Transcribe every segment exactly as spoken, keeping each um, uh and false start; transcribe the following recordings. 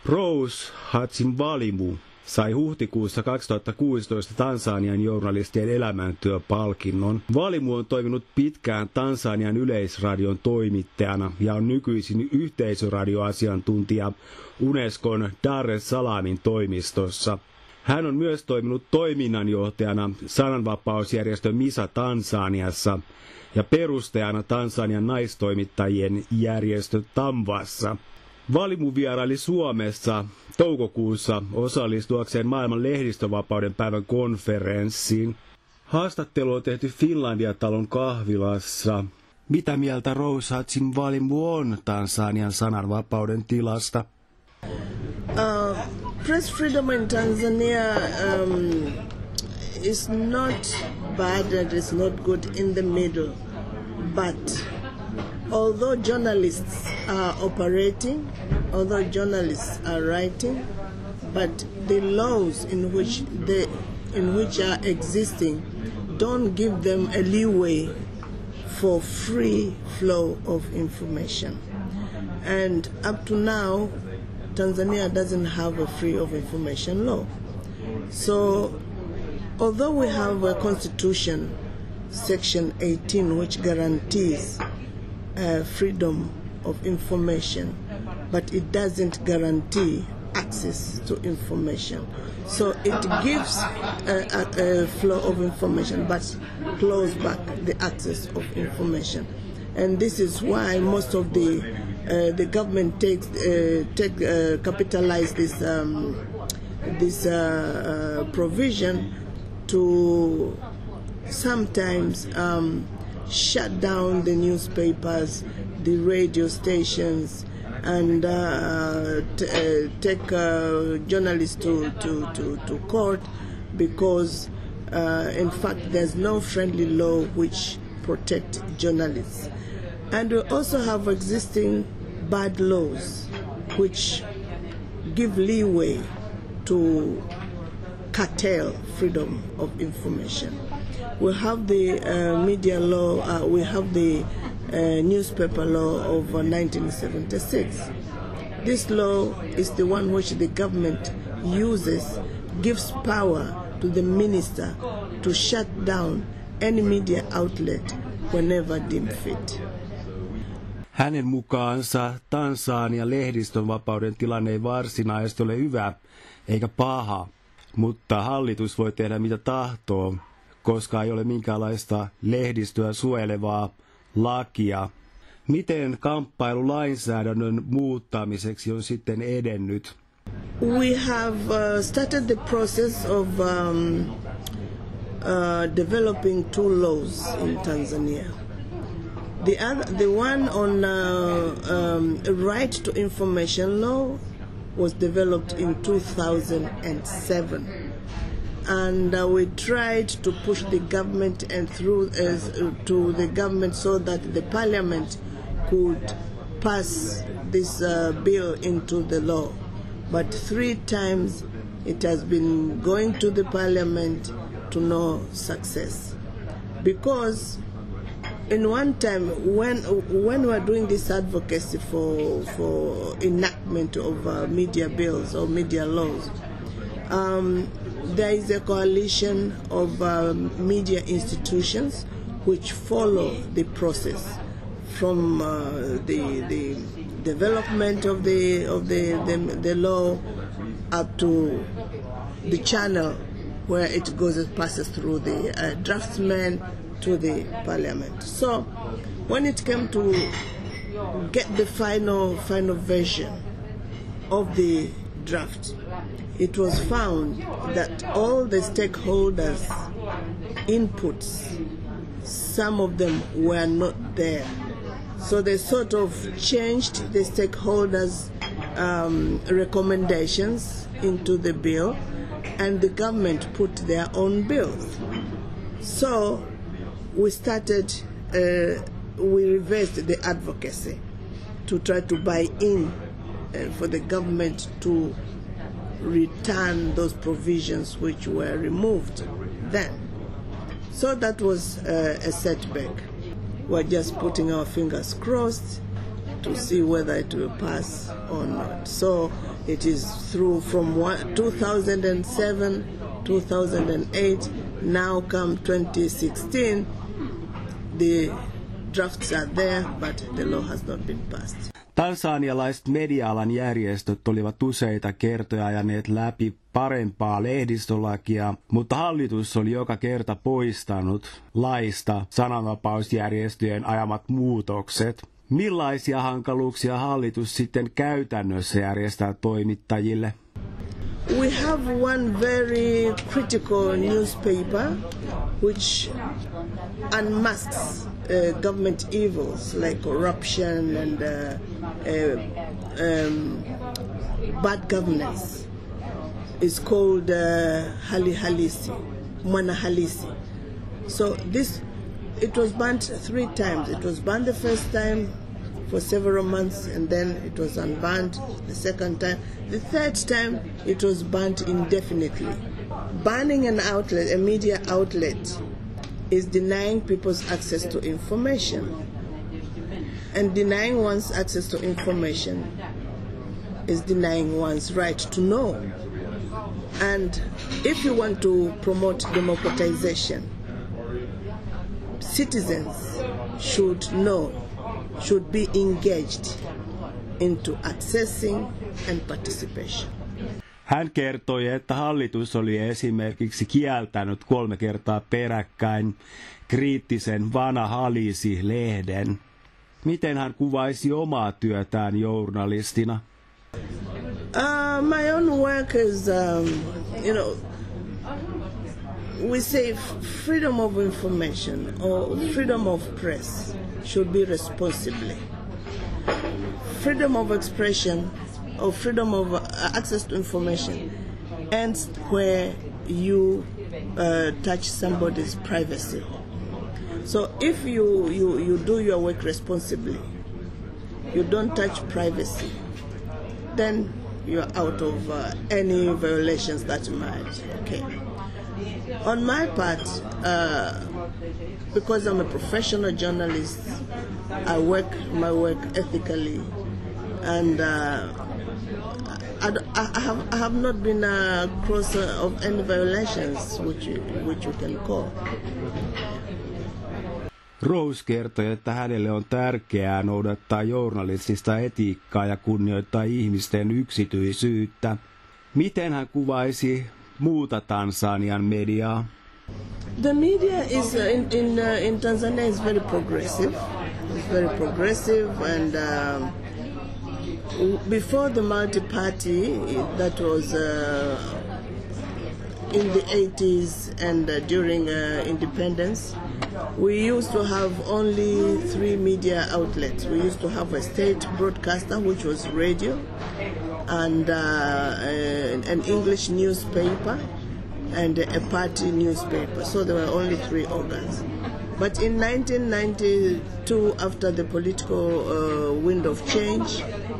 Rose Hatsinvalimu sai huhtikuussa kaksituhattakuusitoista Tansanian journalistien elämäntyöpalkinnon. Valimu on toiminut pitkään Tansanian yleisradion toimittajana ja on nykyisin yhteisöradioasiantuntija Unescon Dar es Salamin toimistossa. Hän on myös toiminut toiminnanjohtajana sananvapausjärjestö MISA Tansaniassa ja perustajana Tansanian naistoimittajien järjestö TAMVassa. Valimu vieraili Suomessa toukokuussa osallistuakseen maailman lehdistövapauden päivän konferenssiin. Haastattelu on tehty Finlandia-talon kahvilassa. Mitä mieltä Rose Hatsinvalimu on Tansanian sananvapauden tilasta? Uh, press freedom in Tanzania um, is not bad and it's not good in the middle, but although journalists are operating, although journalists are writing, but the laws in which they in which are existing don't give them a leeway for free flow of information. And up to now, Tanzania doesn't have a free of information law. So, although we have a constitution, section eighteen, which guarantees uh, freedom of information, but it doesn't guarantee access to information. So it gives a, a, a flow of information, but close back the access of information. And this is why most of the uh, the government takes uh, take uh, capitalize this um, this uh, uh, provision to sometimes um, shut down the newspapers, the radio stations, and uh, t- uh, take uh, journalists to, to, to, to court because, uh, in fact, there's no friendly law which protect journalists. And we also have existing bad laws which give leeway to curtail freedom of information. We have the uh, media law, uh, we have the uh, newspaper law of uh, nineteen seventy-six. This law is the one which the government uses, gives power to the minister to shut down any media outlet whenever deemed fit. Hänen mukaansa Tansanian lehdistönvapauden tilanne ei varsinaisesti ole hyvä eikä paha, mutta hallitus voi tehdä mitä tahtoo, koska ei ole minkäänlaista lehdistöä suojelevaa lakia. Miten kamppailu lainsäädännön muuttamiseksi on sitten edennyt? We have uh, started the process of um, uh, developing two laws in Tanzania. The other, the one on uh, um, right to information law was developed in two thousand seven. And uh, we tried to push the government and through uh, to the government so that the parliament could pass this uh, bill into the law. But three times it has been going to the parliament to no success. Because in one time when when we were doing this advocacy for for enactment of uh, media bills or media laws, um, there is a coalition of uh, media institutions which follow the process from uh, the the development of the of the, the the law up to the channel where it goes and passes through the uh, draftsmen to the parliament. So when it came to get the final final version of the draft, it was found that all the stakeholders' inputs, some of them were not there. So they sort of changed the stakeholders' um, recommendations into the bill, and the government put their own bills. So we started, uh, we reversed the advocacy to try to buy in uh, for the government to return those provisions which were removed then. So that was uh, a setback. We're just putting our fingers crossed to see whether it will pass or not. So It is through from one, two thousand seven, two thousand eight, now come twenty sixteen, the drafts are there, but the law has not been passed. Tansanialaiset media-alan järjestöt olivat useita kertoja ajaneet läpi parempaa lehdistölakia, mutta hallitus oli joka kerta poistanut laista sananvapausjärjestöjen ajamat muutokset. Millaisia hankaluuksia hallitus sitten käytännössä järjestää toimittajille? We have one very critical newspaper which unmasks uh, government evils like corruption and uh, uh, um, bad governance. It's called uh, Hali Halisi, Mwana Halisi. So this, it was banned three times. It was banned the first time for several months, and then it was unbanned the second time. The third time, it was banned indefinitely. Banning an outlet, a media outlet, is denying people's access to information. And denying one's access to information is denying one's right to know. And if you want to promote democratization, citizens should know, should be engaged into accessing and participation. Hän kertoi, että hallitus oli esimerkiksi kieltänyt kolme kertaa peräkkäin kriittisen Wana Halisi-lehden. Miten hän kuvaisi omaa työtään journalistina? Uh, my own work is, um, you know, we say freedom of information or freedom of press should be responsibly. Freedom of expression or freedom of uh, access to information ends where you uh, touch somebody's privacy. So if you, you, you do your work responsibly, you don't touch privacy, then you're out of uh, any violations that might okay. On my part, uh, because I'm a professional journalist, I work my work ethically, and uh, I, I, have, I have not been a cross of any violations, which you, which you can call. Rose kertoi, että hänelle on tärkeää noudattaa journalistista etiikkaa ja kunnioittaa ihmisten yksityisyyttä. Miten hän kuvaisi muuta Tansanian mediaa? The media is uh, in in, uh, in Tanzania is very progressive. It's very progressive, and um, before the multi-party, that was uh, in the eighties and uh, during uh, independence, we used to have only three media outlets. We used to have a state broadcaster, which was radio, and uh, an English newspaper, and a party newspaper. So there were only three organs. But in nineteen ninety-two, after the political uh, wind of change,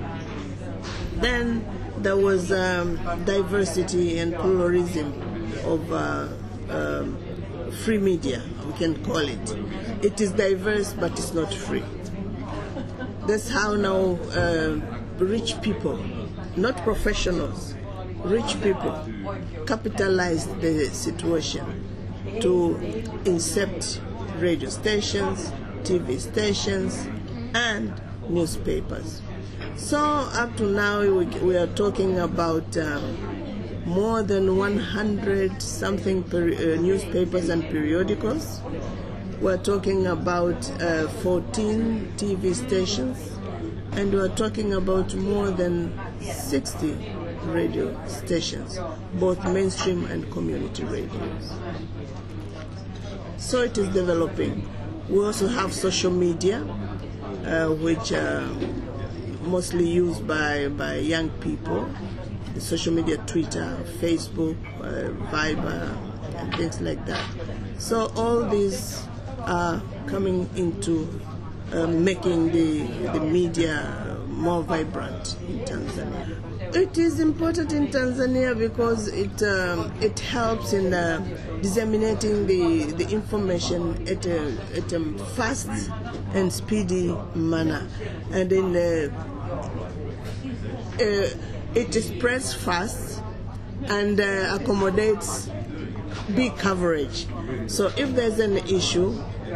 then there was um, diversity and pluralism of uh, um, free media, we can call it. It is diverse, but it's not free. That's how now uh, rich people, not professionals, rich people capitalized the situation to incept radio stations, T V stations, and newspapers. So up to now, we, we are talking about um, more than one hundred something per, uh, newspapers and periodicals. We're talking about uh, fourteen T V stations, and we're talking about more than sixty radio stations, both mainstream and community radios. So it is developing. We also have social media, uh, which are mostly used by, by young people. The social media, Twitter, Facebook, uh, Viber, and things like that. So all these are coming into uh, making the, the media more vibrant in Tanzania. It is important in Tanzania because it um, it helps in uh, disseminating the, the information at a, at a fast and speedy manner, and in uh, uh, it spreads fast and uh, accommodates big coverage. So if there's an issue,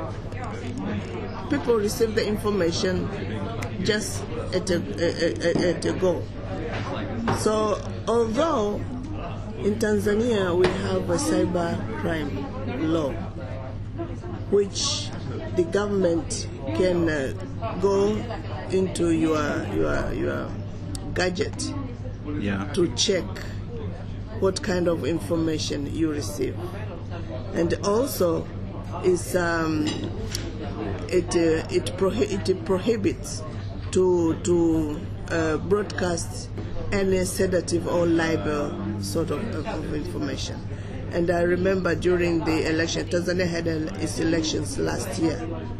people receive the information just at a, a, a, at a go. So although in Tanzania we have a cyber crime law, which the government can uh, go into your your your gadget Yeah. to check what kind of information you receive, and also is um, it uh, it, prohi- it prohibits to to uh, broadcast any sedative or libel sort of, of, of information. And I remember during the election, Tanzania had its elections last year.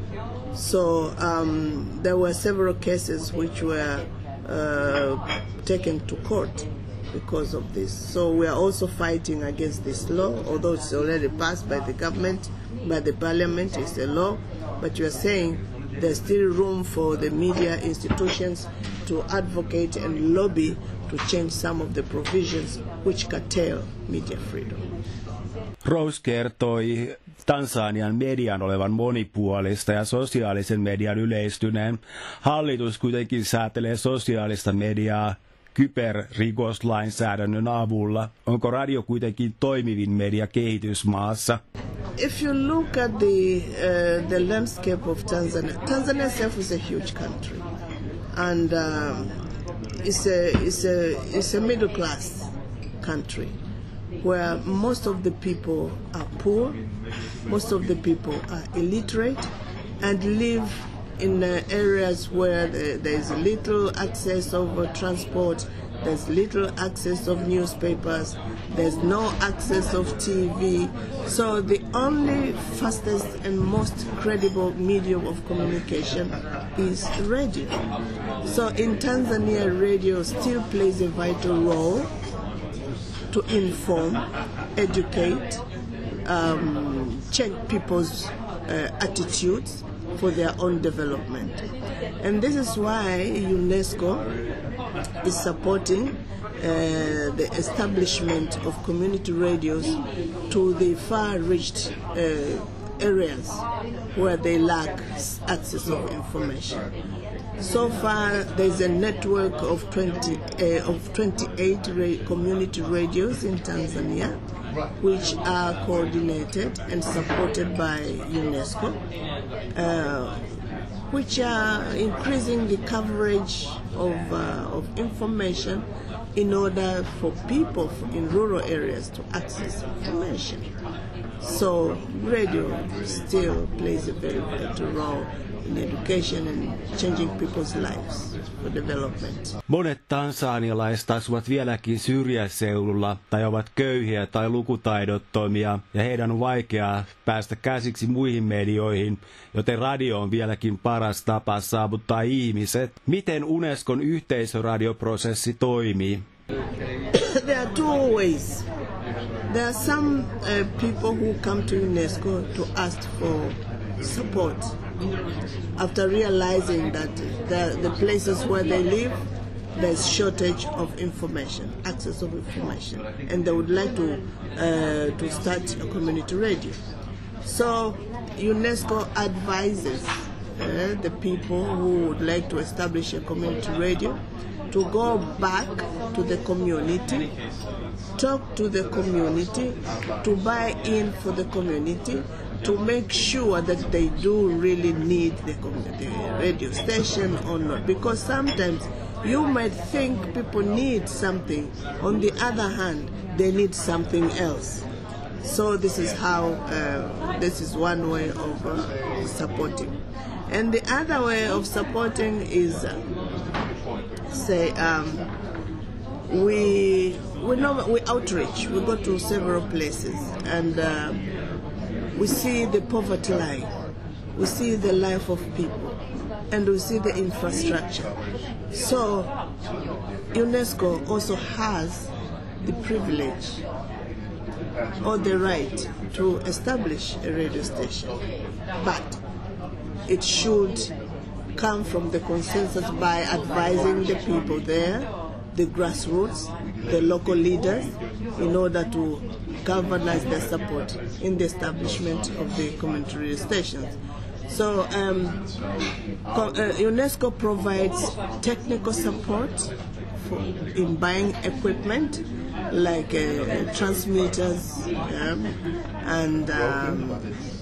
So um, there were several cases which were uh, taken to court because of this. So we are also fighting against this law, although it's already passed by the government, by the parliament, it's a law. But you are saying there's still room for the media institutions to advocate and lobby to change some of the provisions which curtail media freedom. Rose kertoi Tansanian median olevan monipuolista ja sosiaalisen median yleistyneen. Hallitus kuitenkin säätelee sosiaalista mediaa kyberrikoslainsäädännön avulla. Onko radio kuitenkin toimivin media kehitysmaassa? If you look at the uh, the landscape of Tanzania, Tanzania itself is a huge country, and um, it's a it's a it's a middle class country, where most of the people are poor, most of the people are illiterate, and live in uh, areas where the, there is little access of uh, transport, there's little access of newspapers, there's no access of T V. So the only fastest and most credible medium of communication is radio. So in Tanzania, radio still plays a vital role to inform, educate, um, change people's uh, attitudes for their own development. And this is why UNESCO is supporting uh, the establishment of community radios to the far-reached uh, areas where they lack access of information. So far, there's a network of twenty uh, of twenty-eight ra- community radios in Tanzania, which are coordinated and supported by UNESCO, uh, which are increasing the coverage of uh, of information in order for people in rural areas to access information. So radio still plays a very vital role in education and changing people's lives for development. Monet tansanialaiset asuvat vieläkin syrjäseudulla tai ovat köyhiä tai lukutaidottomia ja heidän on vaikeaa päästä käsiksi muihin medioihin, joten radio on vieläkin paras tapa saavuttaa ihmiset. Miten Unescon yhteisöradioprosessi toimii? There are two ways. There are some uh, people who come to UNESCO to ask for support after realizing that the, the places where they live, there's shortage of information, access of information, and they would like to uh, to start a community radio. So UNESCO advises uh, the people who would like to establish a community radio to go back to the community, talk to the community, to buy in for the community, to make sure that they do really need the, the radio station or not. Because sometimes you might think people need something. On the other hand, they need something else. So this is how, uh, this is one way of uh, supporting. And the other way of supporting is, uh, say, um, we we know we outreach. We go to several places and uh, we see the poverty line, we see the life of people, and we see the infrastructure. So UNESCO also has the privilege or the right to establish a radio station, but it should come from the consensus by advising the people there the grassroots, the local leaders, in order to galvanize their support in the establishment of the community radio stations. So um, uh, UNESCO provides technical support for, in buying equipment like uh, transmitters um, and um,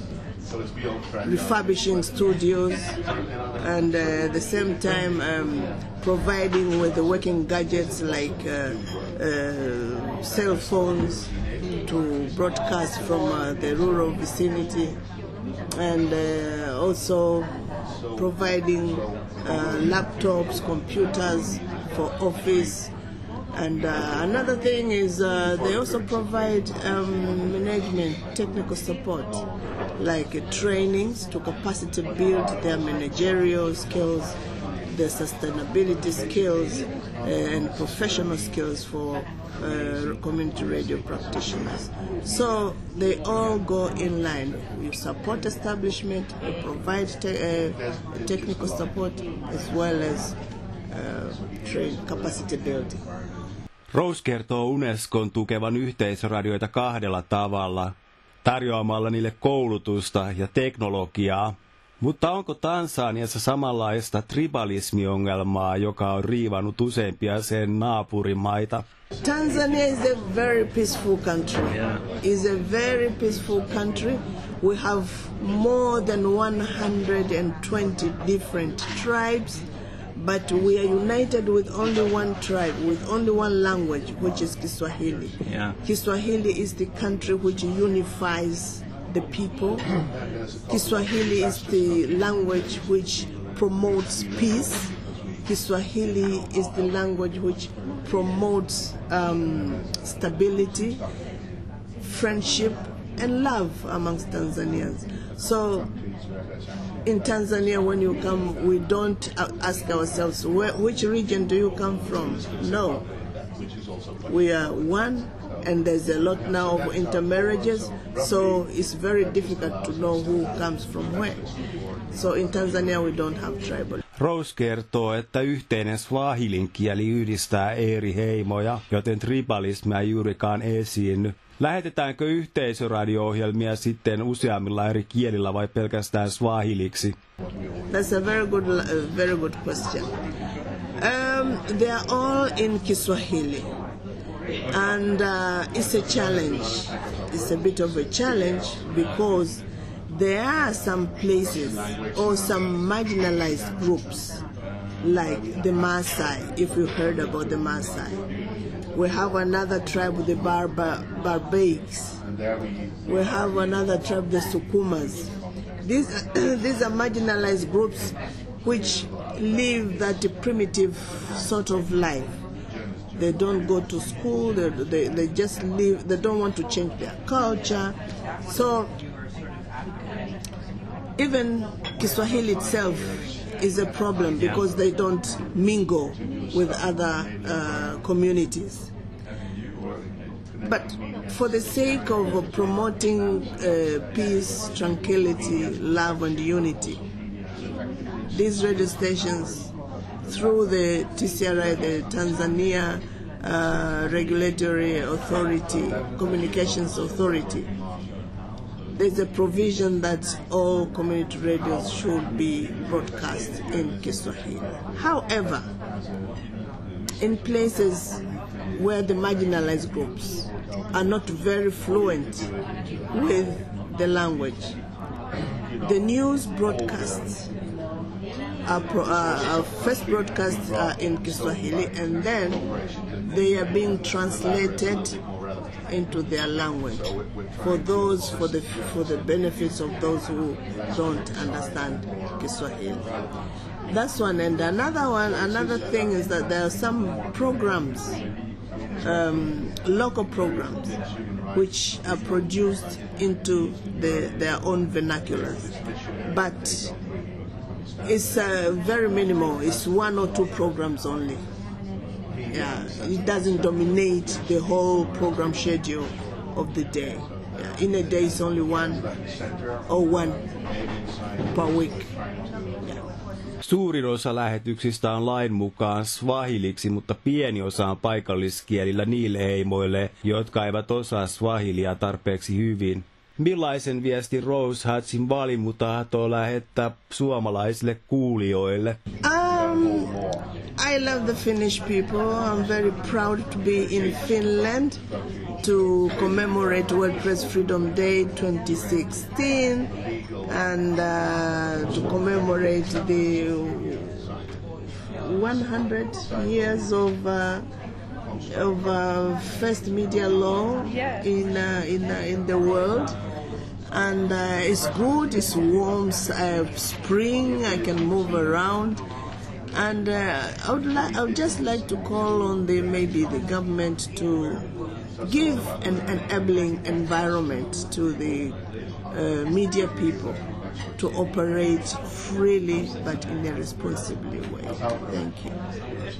refurbishing studios, and uh, at the same time um, providing with the working gadgets like uh, uh, cell phones to broadcast from uh, the rural vicinity, and uh, also providing uh, laptops, computers for office. And uh, another thing is uh, they also provide um, management technical support, like uh, trainings to capacity build their managerial skills, their sustainability skills, uh, and professional skills for uh, community radio practitioners. So they all go in line. You support establishment, you provide te uh, technical support, as well as uh, train capacity building. Rose kertoo Unescon tukevan yhteisöradioita kahdella tavalla, tarjoamalla niille koulutusta ja teknologiaa. Mutta onko Tansaniassa samanlaista tribalismiongelmaa, joka on riivannut useimpia sen naapurimaita? Tanzania is a very peaceful country. Yeah. It's a very peaceful country. We have more than one hundred twenty different tribes. But we are united with only one tribe, with only one language, which is Kiswahili. Yeah. Kiswahili is the country which unifies the people. Kiswahili is the language which promotes peace. Kiswahili is the language which promotes um, stability, friendship, and love amongst Tanzanians. So, in Tanzania, when you come, we don't ask ourselves, where, which region do you come from? No. We are one, and there's a lot now of intermarriages, so it's very difficult to know who comes from where. So in Tanzania, we don't have tribal. Rose kertoo, että yhteinen swahilin kieli yhdistää eri heimoja, joten tribalismia ei juurikaan esiinny. Lähetetäänkö yhteisöradio-ohjelmia sitten useammilla eri kielillä vai pelkästään swahiliksi? That's a very good, uh, very good question. Um, they are all in Kiswahili, and uh, it's a challenge. It's a bit of a challenge because there are some places or some marginalized groups, like the Maasai, if you heard about the Maasai. We have another tribe, the Barba, Barbaics. We have another tribe, the Sukumas. These, these are marginalized groups which live that primitive sort of life. They don't go to school, they, they, they just live, they don't want to change their culture. So even Kiswahili itself is a problem because they don't mingle with other uh, communities. But for the sake of promoting uh, peace, tranquility, love and unity, these radio stations, through the T C R I, the Tanzania uh, Regulatory Authority, Communications Authority, there's a provision that all community radios should be broadcast in Kiswahili. However, in places where the marginalized groups are not very fluent with the language, the news broadcasts are, pro, uh, our first broadcasts are in Kiswahili, and then they are being translated into their language for those for the for the benefits of those who don't understand Kiswahili. That's one. And another one, another thing is that there are some programs, um, local programs, which are produced into the, their own vernaculars, but it's uh, very minimal. It's one or two programs only. Yeah, it doesn't dominate the whole program schedule of the day. Yeah, in a day, it's only one or one per week. Yeah. Suurin osa lähetyksistä on lain mukaan swahiliksi, mutta pieni osa on paikalliskielillä niille heimoille, jotka eivät osaa swahilia tarpeeksi hyvin. Millaisen viestin Rose Hatsin-Valimu tahtoo lähettää suomalaisille kuulijoille? Um, I love the Finnish people. I'm very proud to be in Finland to commemorate World Press Freedom Day twenty sixteen and uh, to commemorate the one hundred years of uh, of uh, first media law in uh, in uh, in the world. And uh, it's good, it's warm, uh, spring, I can move around. And uh, I would li- I would just like to call on the maybe the government to give an enabling environment to the uh, media people to operate freely but in a responsible way. Thank you.